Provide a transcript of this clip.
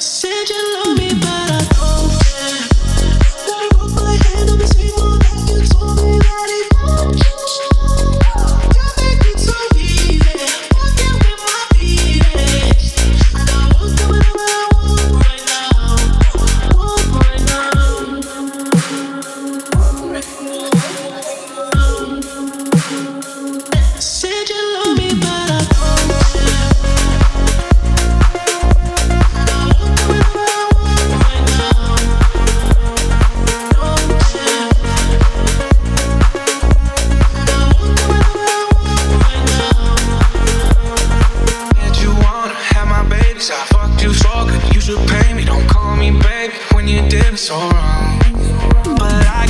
Said you love me, but I don't care. Gotta put my hand on the sweet one that you told me that it won't you. You make it so easy, fucking with my feelings. I got one coming up that I want right now, want right now. Said you love me, but I don't care. I got one coming up that I want right now, don't care. Did you wanna have my babies? I fucked you so good, you should pay me. Don't call me baby when you did me so wrong. But I